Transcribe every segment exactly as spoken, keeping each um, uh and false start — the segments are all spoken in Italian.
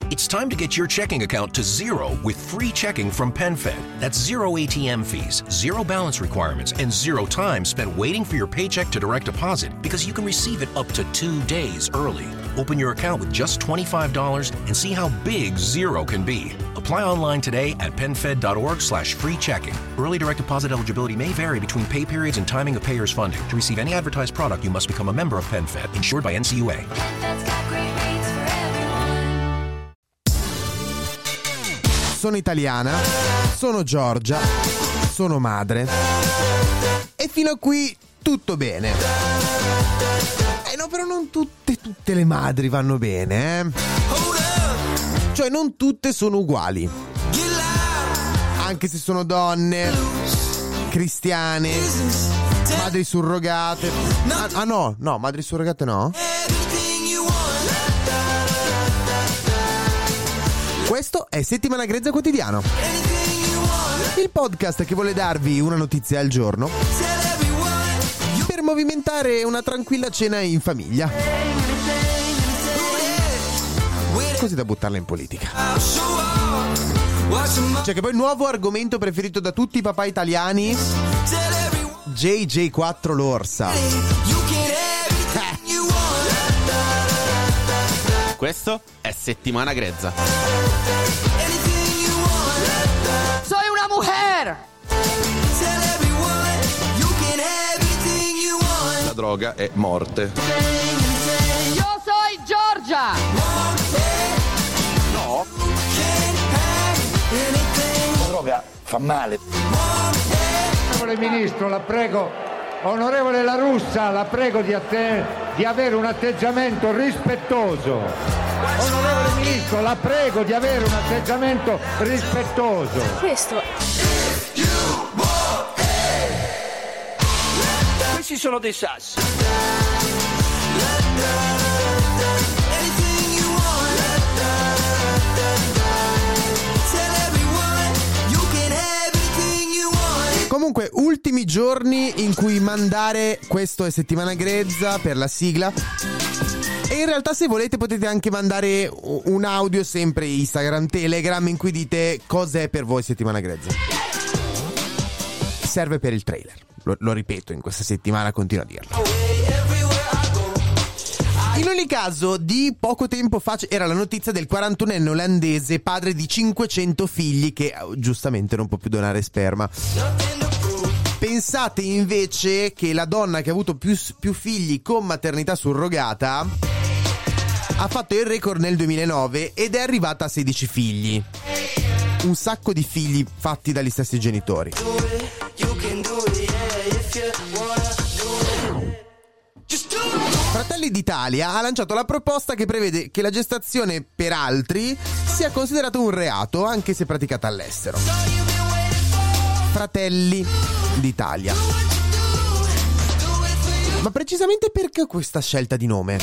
It's time to get your checking account to zero with free checking from PenFed. That's zero A T M fees, zero balance requirements, and zero time spent waiting for your paycheck to direct deposit because you can receive it up to two days early. Open your account with just twenty-five dollars and see how big zero can be. Apply online today at penfed.org slash free checking. Early direct deposit eligibility may vary between pay periods and timing of payers' funding. To receive any advertised product, you must become a member of PenFed, insured by N C U A. Sono italiana, sono Giorgia, sono madre e fino a qui tutto bene. Eh no, però non tutte, tutte le madri vanno bene, eh? Cioè non tutte sono uguali, anche se sono donne, cristiane, madri surrogate. Ah, ah no, no, madri surrogate no? Questo è Settimana Grezza Quotidiano, il podcast che vuole darvi una notizia al giorno per movimentare una tranquilla cena in famiglia, così da buttarla in politica. Cioè che poi il nuovo argomento preferito da tutti i papà italiani, J J quattro l'orsa. Questo è Settimana Grezza. Soy una mujer. La droga è morte. Io soy Giorgia. No. La droga fa male. Onorevole Ministro, la prego. Onorevole La Russa, la prego di, atte- di avere un atteggiamento rispettoso. Onorevole Ministro, la prego di avere un atteggiamento rispettoso. Questo. Questi sono dei sassi. Comunque, ultimi giorni in cui mandare Questo è Settimana Grezza per la sigla. E in realtà, se volete, potete anche mandare un audio, sempre Instagram, Telegram, in cui dite cos'è per voi Settimana Grezza. Serve per il trailer, lo, lo ripeto, in questa settimana continuo a dirlo. In ogni caso, di poco tempo fa era la notizia del quarantunenne olandese, padre di cinquecento figli, che giustamente non può più donare sperma. Pensate invece che la donna che ha avuto più, più figli con maternità surrogata ha fatto il record nel duemilanove ed è arrivata a sedici figli. Un sacco di figli fatti dagli stessi genitori. Fratelli d'Italia ha lanciato la proposta che prevede che la gestazione per altri sia considerata un reato anche se praticata all'estero. Fratelli d'Italia. Ma precisamente perché questa scelta di nome?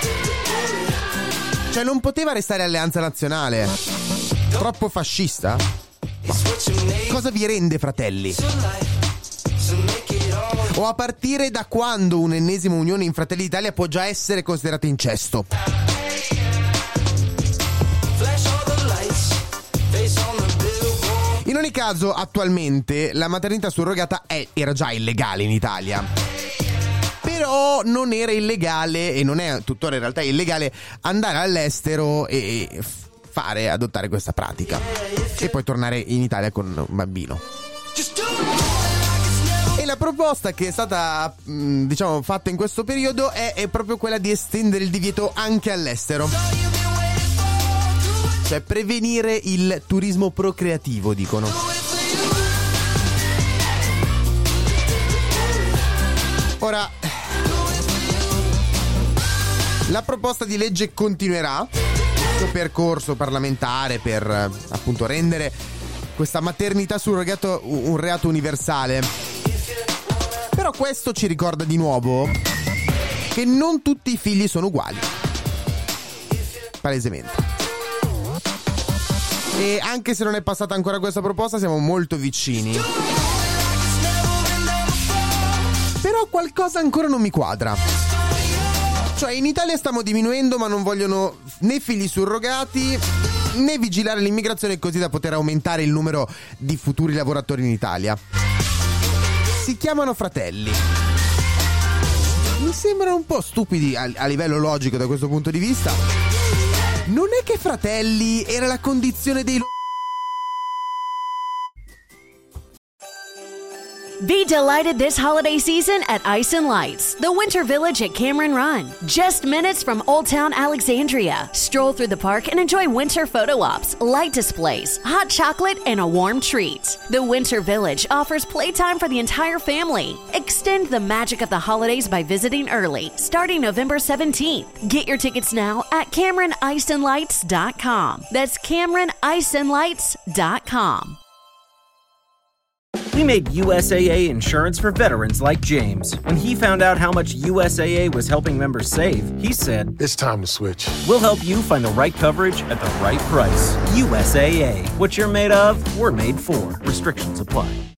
Cioè non poteva restare Alleanza Nazionale? Troppo fascista? Ma cosa vi rende fratelli? O a partire da quando un'ennesima unione in Fratelli d'Italia può già essere considerata incesto? In ogni caso, attualmente la maternità surrogata è, era già illegale in Italia. Però non era illegale, e non è tuttora in realtà illegale, andare all'estero e fare, adottare questa pratica e poi tornare in Italia con un bambino. E la proposta che è stata, diciamo, fatta in questo periodo è, è proprio quella di estendere il divieto anche all'estero. Cioè prevenire il turismo procreativo, dicono. Ora, la proposta di legge continuerà il suo percorso parlamentare per, appunto, rendere questa maternità surrogato un reato universale. Però questo ci ricorda di nuovo che non tutti i figli sono uguali. Palesemente. E anche se non è passata ancora questa proposta, siamo molto vicini. Però qualcosa ancora non mi quadra. Cioè in Italia stiamo diminuendo, ma non vogliono né figli surrogati né vigilare l'immigrazione così da poter aumentare il numero di futuri lavoratori in Italia. Si chiamano fratelli. Mi sembrano un po' stupidi a, a livello logico da questo punto di vista. Non è che fratelli era la condizione dei lo- Be delighted this holiday season at Ice and Lights, the Winter Village at Cameron Run. Just minutes from Old Town Alexandria. Stroll through the park and enjoy winter photo ops, light displays, hot chocolate, and a warm treat. The Winter Village offers playtime for the entire family. Extend the magic of the holidays by visiting early, starting November seventeenth. Get your tickets now at Cameron Ice and Lights dot com. That's Cameron Ice and Lights dot com. We made U S A A insurance for veterans like James. When he found out how much U S A A was helping members save, he said, "It's time to switch." We'll help you find the right coverage at the right price. U S A A. What you're made of, we're made for. Restrictions apply.